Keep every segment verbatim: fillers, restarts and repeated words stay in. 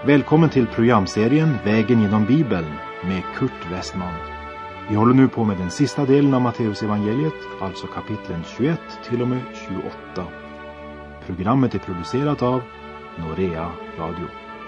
Välkommen till programserien Vägen genom Bibeln med Kurt Westman. Vi håller nu på med den sista delen av Matteus evangeliet, alltså kapitlen tjugoett till och med tjugoåtta. Programmet är producerat av Norea Radio.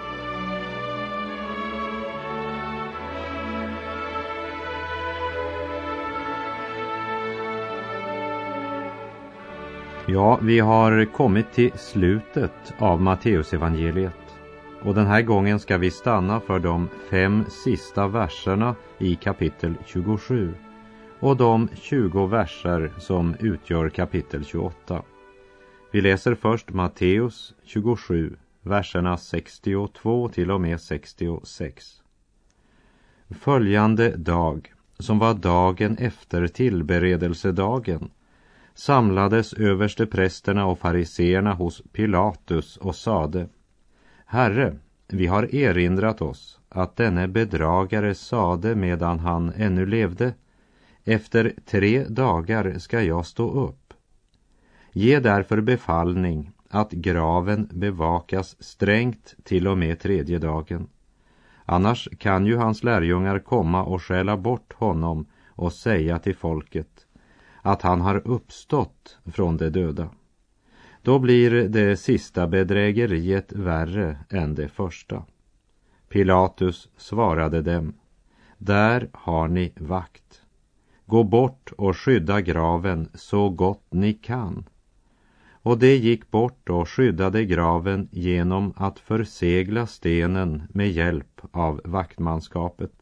Ja, vi har kommit till slutet av Matteus evangeliet. Och den här gången ska vi stanna för de fem sista verserna i kapitel tjugosju och de tjugo verser som utgör kapitel tjugoåtta. Vi läser först Matteus tjugosju, verserna sextiotvå till och med sextiosex. Följande dag, som var dagen efter tillberedelsedagen, samlades översteprästerna och fariseerna hos Pilatus och sade: Herre, vi har erinrat oss att denne bedragare sade medan han ännu levde: efter tre dagar ska jag stå upp. Ge därför befallning att graven bevakas strängt till och med tredje dagen. Annars kan ju hans lärjungar komma och stjäla bort honom och säga till folket att han har uppstått från de döda. Då blir det sista bedrägeriet värre än det första. Pilatus svarade dem: Där har ni vakt. Gå bort och skydda graven så gott ni kan. Och det gick bort och skyddade graven genom att försegla stenen med hjälp av vaktmanskapet.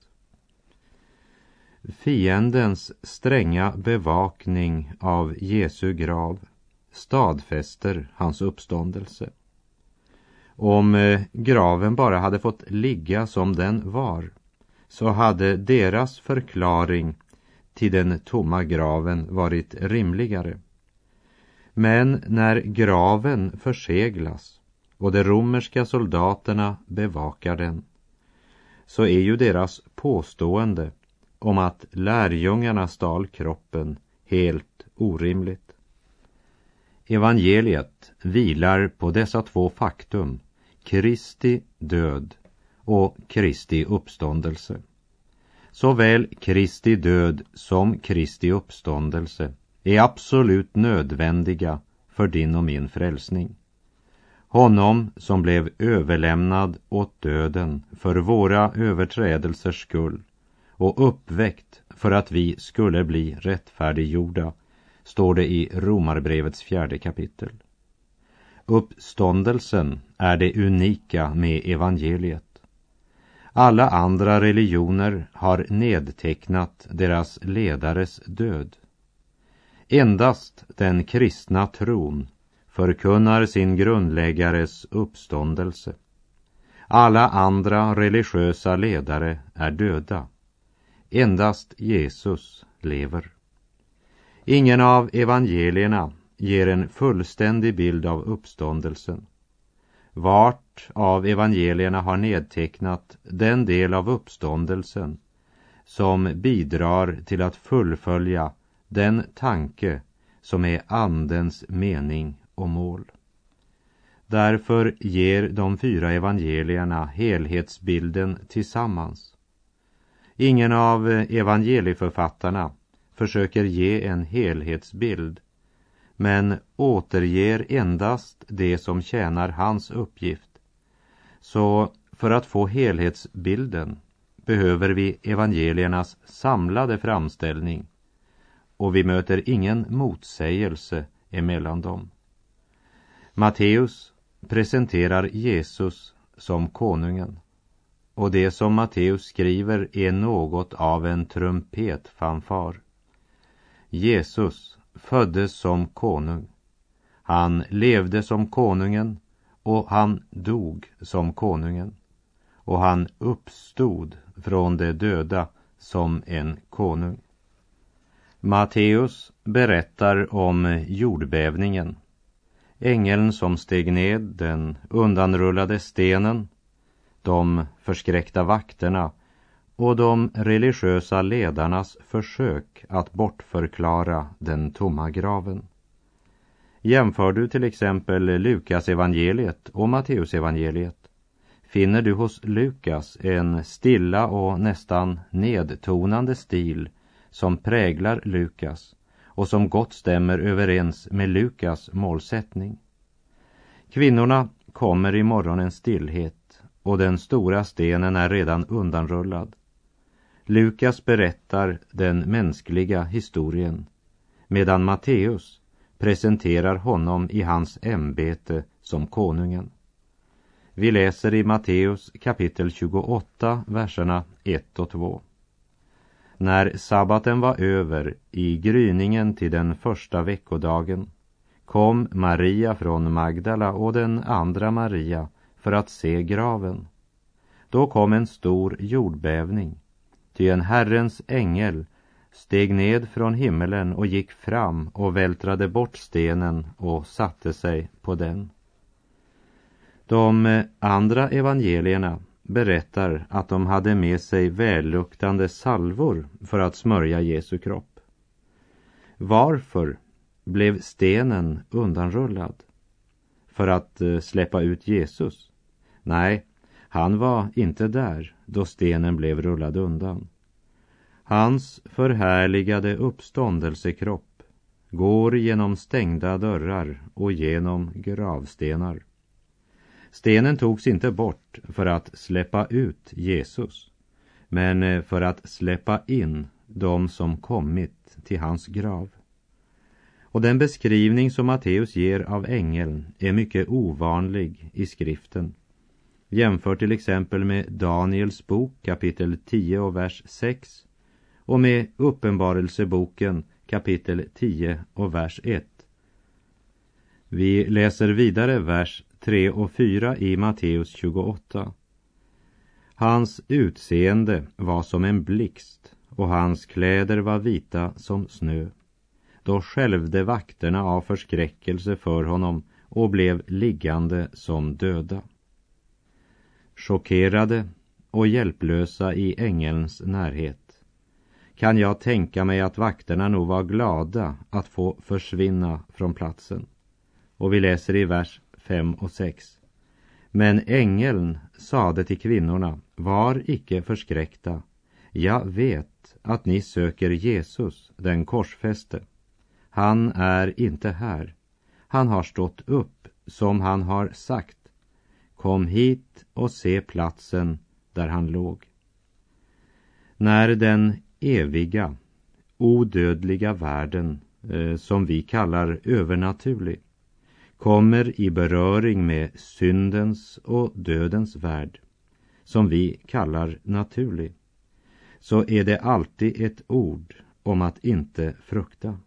Fiendens stränga bevakning av Jesu grav stadfäster hans uppståndelse. Om eh, graven bara hade fått ligga som den var, så hade deras förklaring till den tomma graven varit rimligare. Men när graven förseglas och de romerska soldaterna bevakar den, så är ju deras påstående om att lärjungarna stal kroppen helt orimligt. Evangeliet vilar på dessa två faktum, Kristi död och Kristi uppståndelse. Såväl Kristi död som Kristi uppståndelse är absolut nödvändiga för din och min frälsning. Honom som blev överlämnad åt döden för våra överträdelsers skull och uppväckt för att vi skulle bli rättfärdiggjorda, står det i Romarbrevets fjärde kapitel. Uppståndelsen är det unika med evangeliet. Alla andra religioner har nedtecknat deras ledares död. Endast den kristna tron förkunnar sin grundläggares uppståndelse. Alla andra religiösa ledare är döda. Endast Jesus lever. Ingen av evangelierna ger en fullständig bild av uppståndelsen. Vart av evangelierna har nedtecknat den del av uppståndelsen som bidrar till att fullfölja den tanke som är andens mening och mål. Därför ger de fyra evangelierna helhetsbilden tillsammans. Ingen av evangelieförfattarna försöker ge en helhetsbild, men återger endast det som tjänar hans uppgift. Så för att få helhetsbilden behöver vi evangeliernas samlade framställning, och vi möter ingen motsägelse emellan dem. Matteus presenterar Jesus som konungen, och det som Matteus skriver är något av en trumpetfanfar. Jesus föddes som konung. Han levde som konungen och han dog som konungen. Och han uppstod från de döda som en konung. Matteus berättar om jordbävningen. Ängeln som steg ned den undanrullade stenen, de förskräckta vakterna och de religiösa ledarnas försök att bortförklara den tomma graven. Jämför du till exempel Lukas evangeliet och Matteus evangeliet, finner du hos Lukas en stilla och nästan nedtonande stil som präglar Lukas och som gott stämmer överens med Lukas målsättning. Kvinnorna kommer i morgonens stillhet och den stora stenen är redan undanrullad. Lukas berättar den mänskliga historien, medan Matteus presenterar honom i hans ämbete som konungen. Vi läser i Matteus kapitel tjugoåtta, verserna ett och två. När sabbaten var över, i gryningen till den första veckodagen, kom Maria från Magdala och den andra Maria för att se graven. Då kom en stor jordbävning, ty en Herrens ängel steg ned från himmelen och gick fram och vältrade bort stenen och satte sig på den. De andra evangelierna berättar att de hade med sig välluktande salvor för att smörja Jesu kropp. Varför blev stenen undanrullad? För att släppa ut Jesus? Nej, han var inte där då stenen blev rullad undan. Hans förhärligade uppståndelsekropp går genom stängda dörrar och genom gravstenar. Stenen togs inte bort för att släppa ut Jesus, men för att släppa in de som kommit till hans grav. Och den beskrivning som Matteus ger av ängeln är mycket ovanlig i skriften. Jämför till exempel med Daniels bok kapitel tio och vers sex och med Uppenbarelseboken kapitel tio och vers ett. Vi läser vidare vers tre och fyra i Matteus tjugoåtta. Hans utseende var som en blixt och hans kläder var vita som snö. Då skälvde vakterna av förskräckelse för honom och blev liggande som döda. Chockerade och hjälplösa i ängelns närhet kan jag tänka mig att vakterna nog var glada att få försvinna från platsen. Och vi läser i vers fem och sex. Men ängeln sade till kvinnorna, var icke förskräckta. Jag vet att ni söker Jesus, den korsfäste. Han är inte här. Han har stått upp som han har sagt. Kom hit och se platsen där han låg. När den eviga, odödliga världen, eh, som vi kallar övernaturlig, kommer i beröring med syndens och dödens värld, som vi kallar naturlig, så är det alltid ett ord om att inte frukta.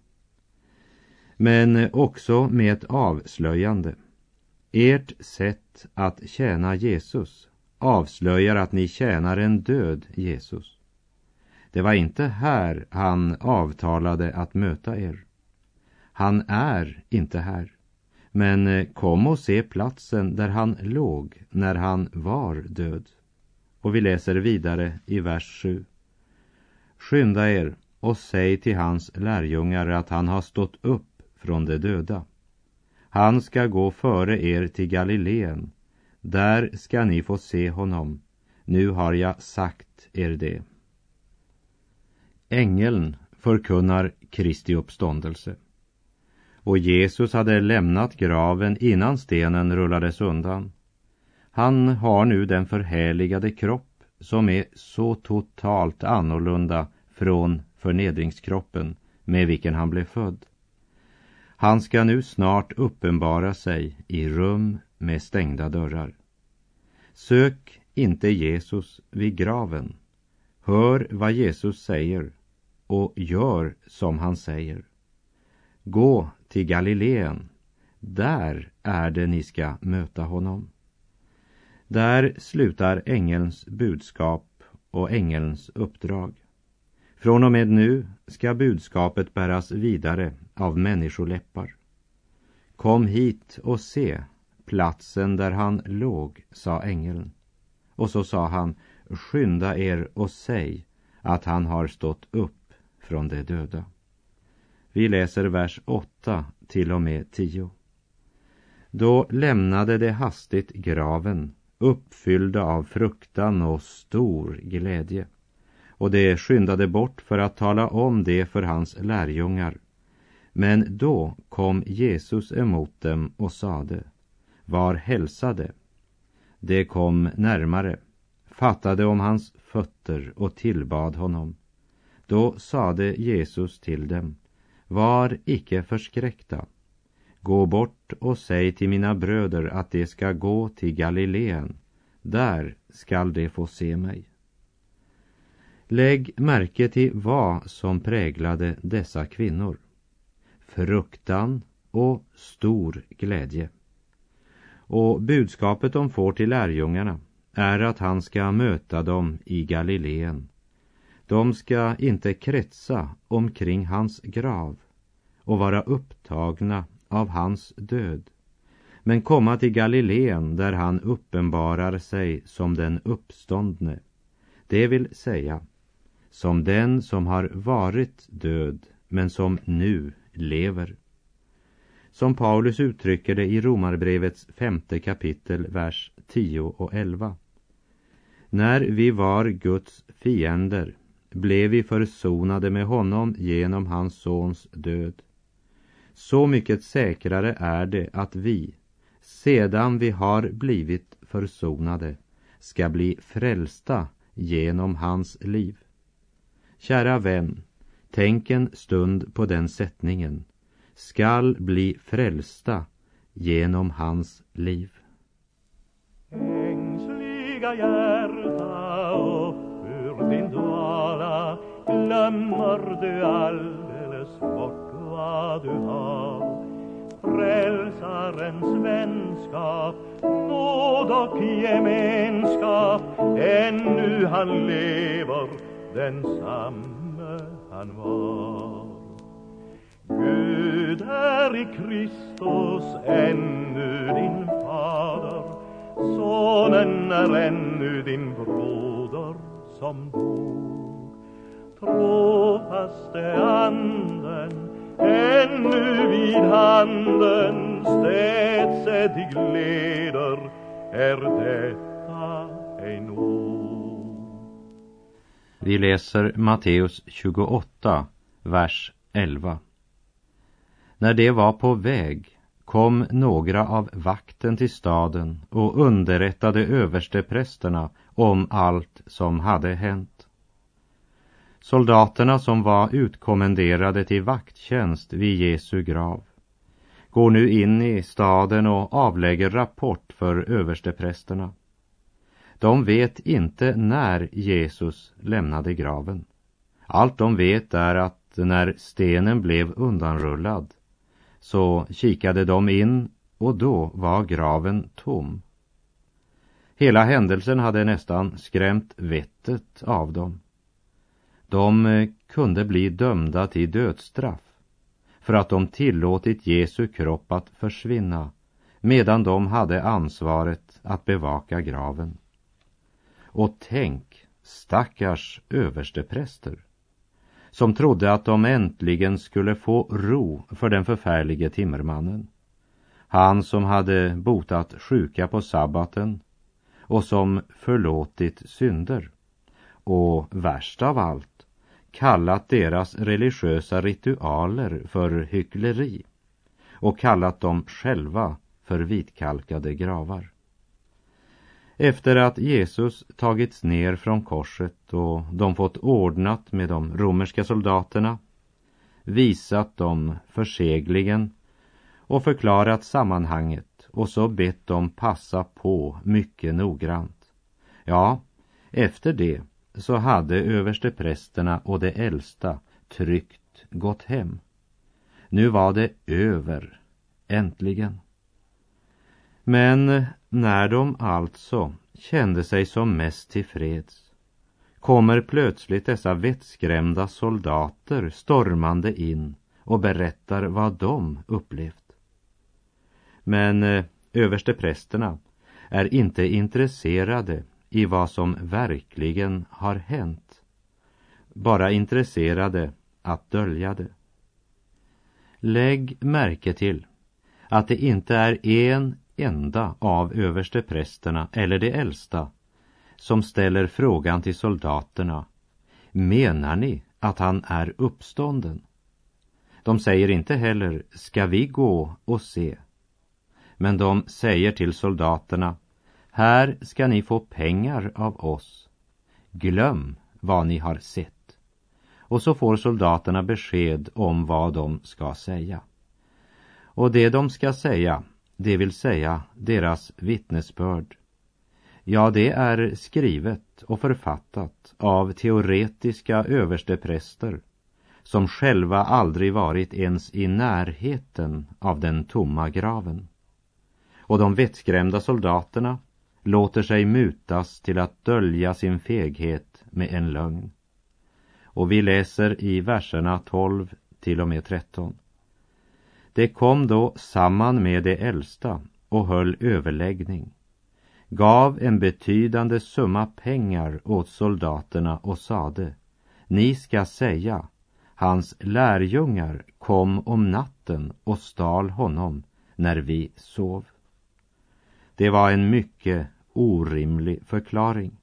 Men också med ett avslöjande. Ert sätt att tjäna Jesus avslöjar att ni tjänar en död Jesus. Det var inte här han avtalade att möta er. Han är inte här. Men kom och se platsen där han låg när han var död. Och vi läser vidare i vers sju. Skynda er och säg till hans lärjungar att han har stått upp från de döda. Han ska gå före er till Galileen. Där ska ni få se honom. Nu har jag sagt er det. Ängeln förkunnar Kristi uppståndelse. Och Jesus hade lämnat graven innan stenen rullades undan. Han har nu den förhärligade kropp som är så totalt annorlunda från förnedringskroppen med vilken han blev född. Han ska nu snart uppenbara sig i rum med stängda dörrar. Sök inte Jesus vid graven. Hör vad Jesus säger och gör som han säger. Gå till Galileen. Där är det ni ska möta honom. Där slutar ängelns budskap och ängelns uppdrag. Från och med nu ska budskapet bäras vidare av människoläppar. Kom hit och se platsen där han låg, sa ängeln. Och så sa han, skynda er och säg att han har stått upp från de döda. Vi läser vers åtta till och med tio. Då lämnade de hastigt graven uppfyllda av fruktan och stor glädje. Och de skyndade bort för att tala om det för hans lärjungar. Men då kom Jesus emot dem och sade: var hälsade. De kom närmare, fattade om hans fötter och tillbad honom. Då sade Jesus till dem: var icke förskräckta. Gå bort och säg till mina bröder att de ska gå till Galileen. Där skall de få se mig. Lägg märke till vad som präglade dessa kvinnor. Fruktan och stor glädje. Och budskapet de får till lärjungarna är att han ska möta dem i Galileen. De ska inte kretsa omkring hans grav och vara upptagna av hans död, men komma till Galileen där han uppenbarar sig som den uppståndne, det vill säga som den som har varit död men som nu lever. Som Paulus uttrycker det i Romarbrevets femte kapitel, vers tio och elva. När vi var Guds fiender blev vi försonade med honom genom hans sons död. Så mycket säkrare är det att vi, sedan vi har blivit försonade, ska bli frälsta genom hans liv. Kära vän, tänk en stund på den sättningen. Skall bli frälsta genom hans liv. Ängsliga hjärta, upp ur din dvala, glömmer du alldeles bort vad du har. Frälsarens vänskap, nåd och gemenskap, ännu han lever, densamme han var. Gud är i Kristus ännu din fader, sonen är ännu din broder som dog. Trofaste anden ännu vid handen, städse dig gleder, är detta ej nog. Vi läser Matteus tjugoåtta, vers elva. När det var på väg kom några av vakten till staden och underrättade översteprästerna om allt som hade hänt. Soldaterna som var utkommenderade till vakttjänst vid Jesu grav går nu in i staden och avlägger rapport för översteprästerna. De vet inte när Jesus lämnade graven. Allt de vet är att när stenen blev undanrullad så kikade de in och då var graven tom. Hela händelsen hade nästan skrämt vettet av dem. De kunde bli dömda till dödsstraff för att de tillåtit Jesu kropp att försvinna medan de hade ansvaret att bevaka graven. Och tänk, stackars överstepräster som trodde att de äntligen skulle få ro för den förfärlige timmermannen. Han som hade botat sjuka på sabbaten och som förlåtit synder. Och värst av allt, kallat deras religiösa ritualer för hyckleri och kallat dem själva för vitkalkade gravar. Efter att Jesus tagits ner från korset och de fått ordnat med de romerska soldaterna, visat dem förseglingen och förklarat sammanhanget och så bett dem passa på mycket noggrant. Ja, efter det så hade översteprästerna och de äldsta tryggt gått hem. Nu var det över, äntligen. Men när de alltså kände sig som mest tillfreds kommer plötsligt dessa vettskrämda soldater stormande in och berättar vad de upplevt. Men eh, översteprästerna är inte intresserade i vad som verkligen har hänt, bara intresserade att dölja det. Lägg märke till att det inte är en enda av översteprästerna eller de äldsta som ställer frågan till soldaterna: menar ni att han är uppstånden? De säger inte heller: ska vi gå och se? Men de säger till soldaterna: här ska ni få pengar av oss. Glöm vad ni har sett. Och så får soldaterna besked om vad de ska säga. Och det de ska säga, det vill säga deras vittnesbörd, ja, det är skrivet och författat av teoretiska överstepräster som själva aldrig varit ens i närheten av den tomma graven. Och de vettskrämda soldaterna låter sig mutas till att dölja sin feghet med en lögn. Och vi läser i verserna tolv till och med tretton. Det kom då samman med de äldsta och höll överläggning, gav en betydande summa pengar åt soldaterna och sade: ni ska säga, hans lärjungar kom om natten och stal honom när vi sov. Det var en mycket orimlig förklaring.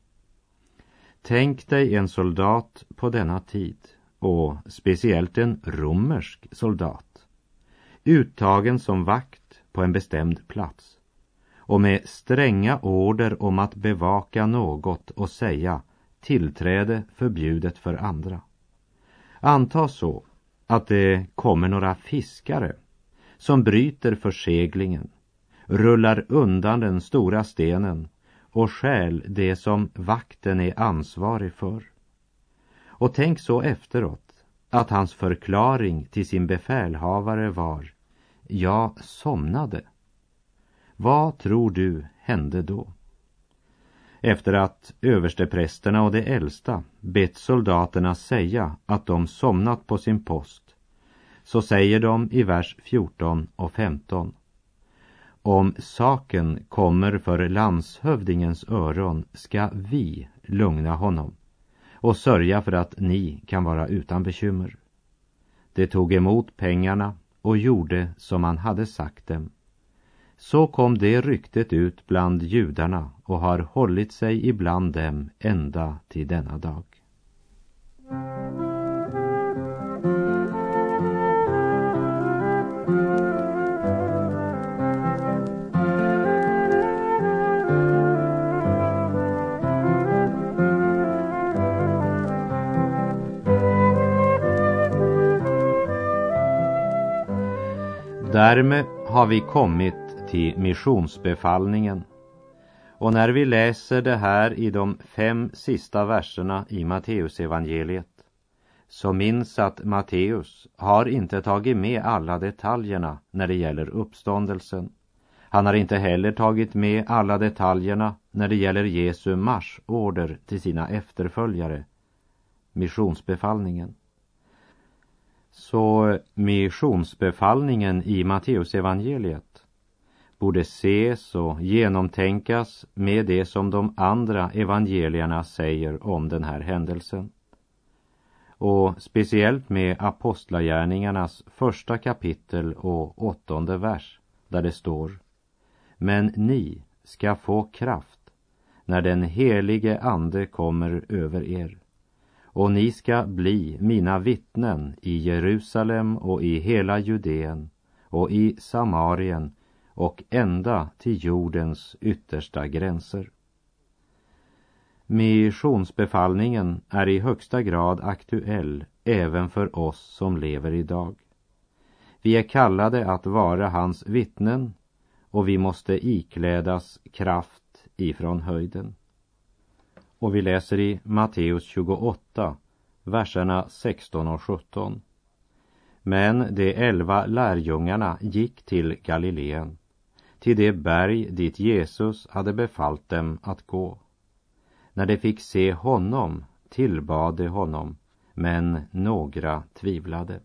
Tänk dig en soldat på denna tid, och speciellt en romersk soldat, uttagen som vakt på en bestämd plats och med stränga order om att bevaka något och säga tillträde förbjudet för andra. Anta så att det kommer några fiskare som bryter förseglingen, rullar undan den stora stenen och stjäl det som vakten är ansvarig för. Och tänk så efteråt att hans förklaring till sin befälhavare var: jag somnade. Vad tror du hände då? Efter att översteprästerna och de äldsta bett soldaterna säga att de somnat på sin post, så säger de i vers fjorton och femton: om saken kommer för landshövdingens öron ska vi lugna honom och sörja för att ni kan vara utan bekymmer. De tog emot pengarna och gjorde som man hade sagt dem. Så kom det ryktet ut bland judarna och har hållit sig ibland dem ända till denna dag. Därmed har vi kommit till missionsbefallningen. Och när vi läser det här i de fem sista verserna i Matteus evangeliet, så minns att Matteus har inte tagit med alla detaljerna när det gäller uppståndelsen. Han har inte heller tagit med alla detaljerna när det gäller Jesu marschorder till sina efterföljare, missionsbefallningen. Så missionsbefallningen i Matteus evangeliet borde ses och genomtänkas med det som de andra evangelierna säger om den här händelsen. Och speciellt med apostlagärningarnas första kapitel och åttonde vers, där det står: men ni ska få kraft när den helige ande kommer över er, och ni ska bli mina vittnen i Jerusalem och i hela Judeen och i Samarien och ända till jordens yttersta gränser. Missionsbefallningen är i högsta grad aktuell även för oss som lever idag. Vi är kallade att vara hans vittnen, och vi måste iklädas kraft ifrån höjden. Och vi läser i Matteus tjugoåtta, verserna sexton och sjutton. Men de elva lärjungarna gick till Galileen, till det berg dit Jesus hade befallt dem att gå. När de fick se honom tillbad de honom, men några tvivlade.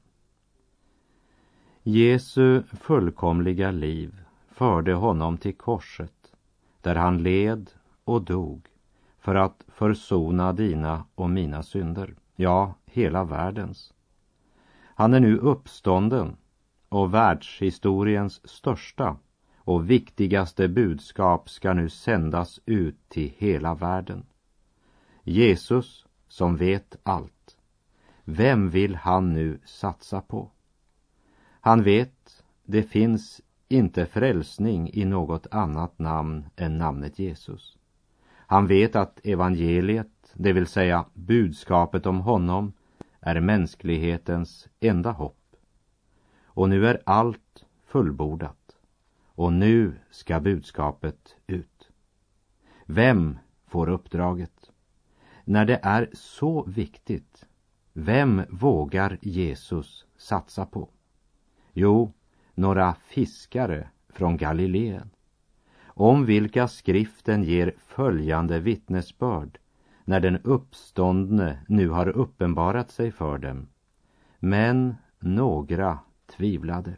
Jesu fullkomliga liv förde honom till korset, där han led och dog för att försona dina och mina synder, ja, hela världens. Han är nu uppstånden och världshistoriens största och viktigaste budskap ska nu sändas ut till hela världen. Jesus som vet allt. Vem vill han nu satsa på? Han vet, det finns inte frälsning i något annat namn än namnet Jesus. Han vet att evangeliet, det vill säga budskapet om honom, är mänsklighetens enda hopp. Och nu är allt fullbordat. Och nu ska budskapet ut. Vem får uppdraget? När det är så viktigt, vem vågar Jesus satsa på? Jo, några fiskare från Galileen, om vilka skriften ger följande vittnesbörd när den uppståndne nu har uppenbarat sig för dem. Men några tvivlade.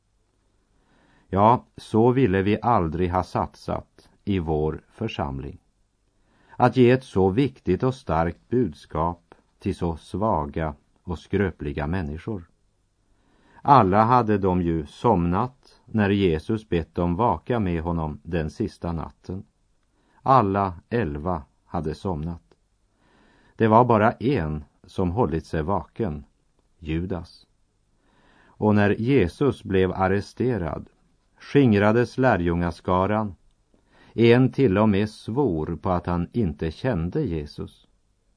Ja, så ville vi aldrig ha satsat i vår församling. Att ge ett så viktigt och starkt budskap till så svaga och skröpliga människor. Alla hade de ju somnat när Jesus bett dem vaka med honom den sista natten. Alla elva hade somnat. Det var bara en som hållit sig vaken, Judas. Och när Jesus blev arresterad skingrades lärjungaskaran. En till och med svor på att han inte kände Jesus.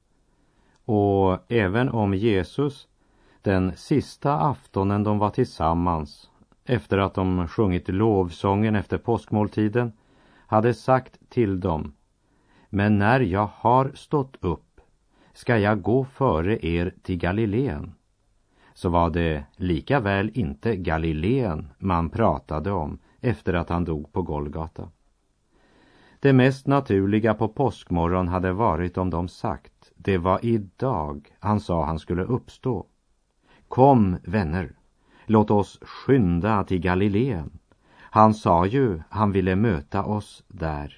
Och även om Jesus den sista aftonen de var tillsammans, efter att de sjungit lovsången efter påskmåltiden, hade sagt till dem: men när jag har stått upp ska jag gå före er till Galileen, så var det lika väl inte Galileen man pratade om efter att han dog på Golgata. Det mest naturliga på påskmorgon hade varit om de sagt: det var idag han sa han skulle uppstå. Kom, vänner, låt oss skynda till Galileen. Han sa ju han ville möta oss där.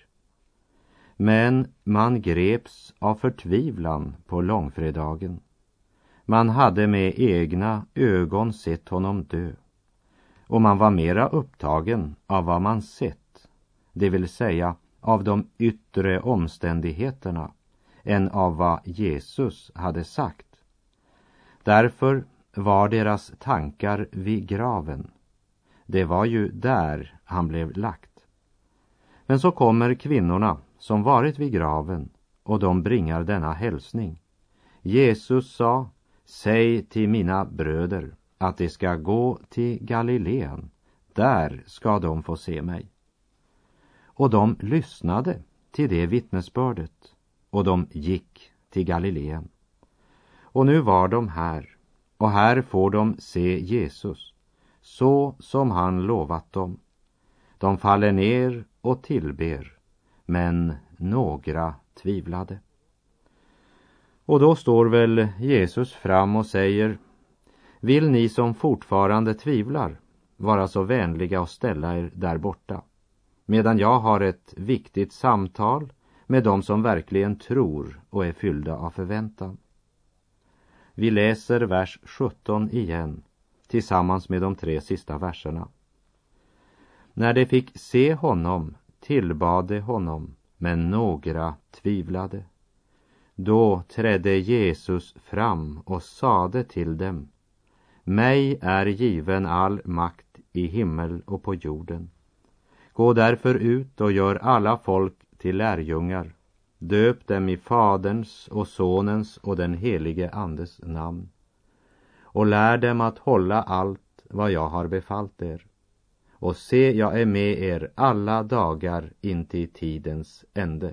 Men man greps av förtvivlan på långfredagen. Man hade med egna ögon sett honom dö. Och man var mera upptagen av vad man sett, det vill säga av de yttre omständigheterna, än av vad Jesus hade sagt. Därför var deras tankar vid graven. Det var ju där han blev lagt. Men så kommer kvinnorna som varit vid graven, och de bringar denna hälsning. Jesus sa: säg till mina bröder att de ska gå till Galileen, där ska de få se mig. Och de lyssnade till det vittnesbördet, och de gick till Galileen. Och nu var de här, och här får de se Jesus, så som han lovat dem. De faller ner och tillber, men några tvivlade. Och då står väl Jesus fram och säger: vill ni som fortfarande tvivlar vara så vänliga och ställa er där borta, medan jag har ett viktigt samtal med dem som verkligen tror och är fyllda av förväntan. Vi läser vers sjutton igen tillsammans med de tre sista verserna. När de fick se honom tillbad de honom, men några tvivlade. Då trädde Jesus fram och sade till dem: mig är given all makt i himmel och på jorden. Gå därför ut och gör alla folk till lärjungar. Döp dem i Faderns och Sonens och den helige Andes namn. Och lär dem att hålla allt vad jag har befallt er. Och se, jag är med er alla dagar intill tidens ände.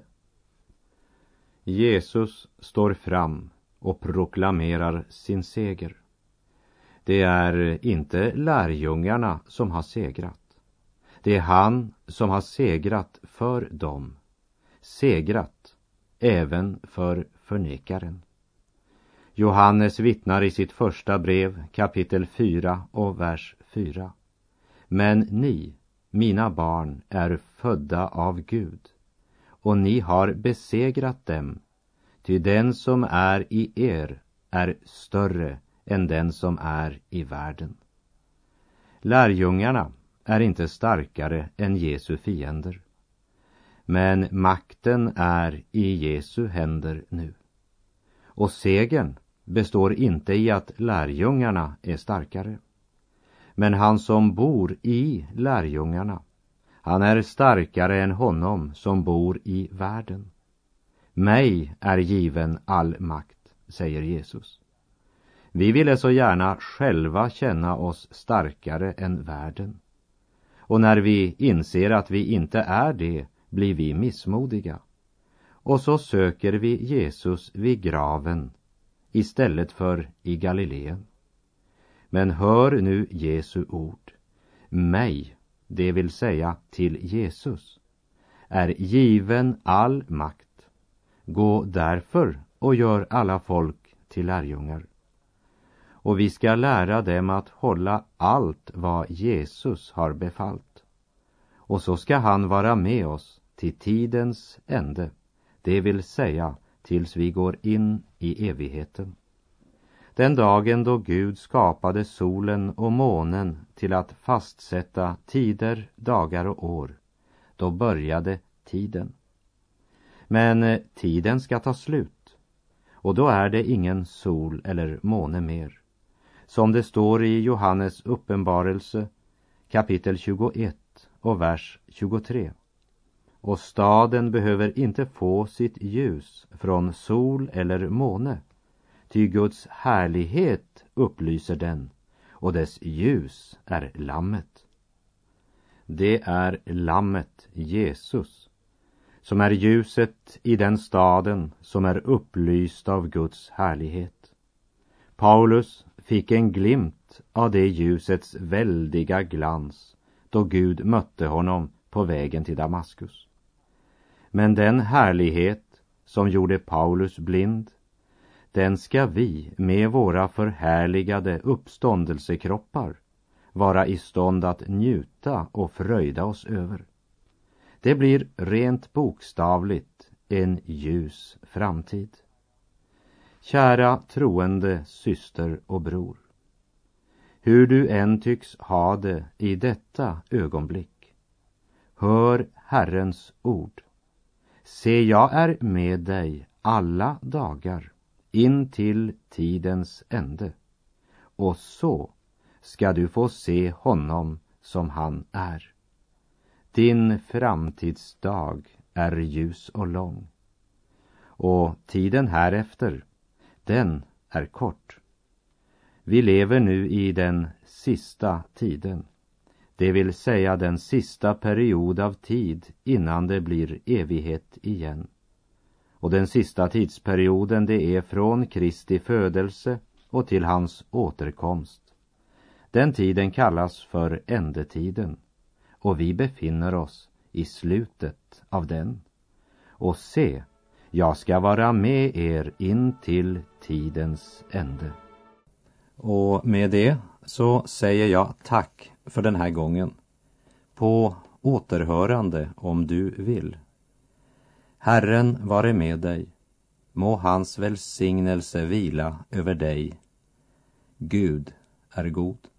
Jesus står fram och proklamerar sin seger. Det är inte lärjungarna som har segrat. Det är han som har segrat för dem. Segrat även för förnekaren. Johannes vittnar i sitt första brev, kapitel fyra och vers fyra. Men ni, mina barn, är födda av Gud, och ni har besegrat dem, ty den som är i er är större än den som är i världen. Lärjungarna är inte starkare än Jesu fiender. Men makten är i Jesu händer nu. Och segern består inte i att lärjungarna är starkare. Men han som bor i lärjungarna, han är starkare än honom som bor i världen. Mig är given all makt, säger Jesus. Vi ville så gärna själva känna oss starkare än världen. Och när vi inser att vi inte är det, blir vi missmodiga. Och så söker vi Jesus vid graven istället för i Galileen. Men hör nu Jesu ord. Mig, det vill säga till Jesus, är given all makt. Gå därför och gör alla folk till lärjungar. Och vi ska lära dem att hålla allt vad Jesus har befallt. Och så ska han vara med oss till tidens ände, det vill säga tills vi går in i evigheten. Den dagen då Gud skapade solen och månen till att fastsätta tider, dagar och år, då började tiden. Men tiden ska ta slut, och då är det ingen sol eller måne mer. Som det står i Johannes uppenbarelse, kapitel tjugoett och vers tjugotre. Och staden behöver inte få sitt ljus från sol eller måne, ty Guds härlighet upplyser den, och dess ljus är lammet. Det är lammet, Jesus, som är ljuset i den staden som är upplyst av Guds härlighet. Paulus fick en glimt av det ljusets väldiga glans då Gud mötte honom på vägen till Damaskus. Men den härlighet som gjorde Paulus blind, den ska vi med våra förhärligade uppståndelsekroppar vara i stånd att njuta och fröjda oss över. Det blir rent bokstavligt en ljus framtid. Kära troende syster och bror, hur du än tycks ha det i detta ögonblick, hör Herrens ord. Se, jag är med dig alla dagar in till tidens ände, och så ska du få se honom som han är. Din framtidsdag är ljus och lång, och tiden härefter, den är kort. Vi lever nu i den sista tiden, det vill säga den sista period av tid innan det blir evighet igen. Och den sista tidsperioden, det är från Kristi födelse och till hans återkomst. Den tiden kallas för ändetiden, och vi befinner oss i slutet av den. Och se, jag ska vara med er in till tidens ände. Och med det så säger jag tack för den här gången. På återhörande om du vill. Herren vare med dig. Må hans välsignelse vila över dig. Gud är god.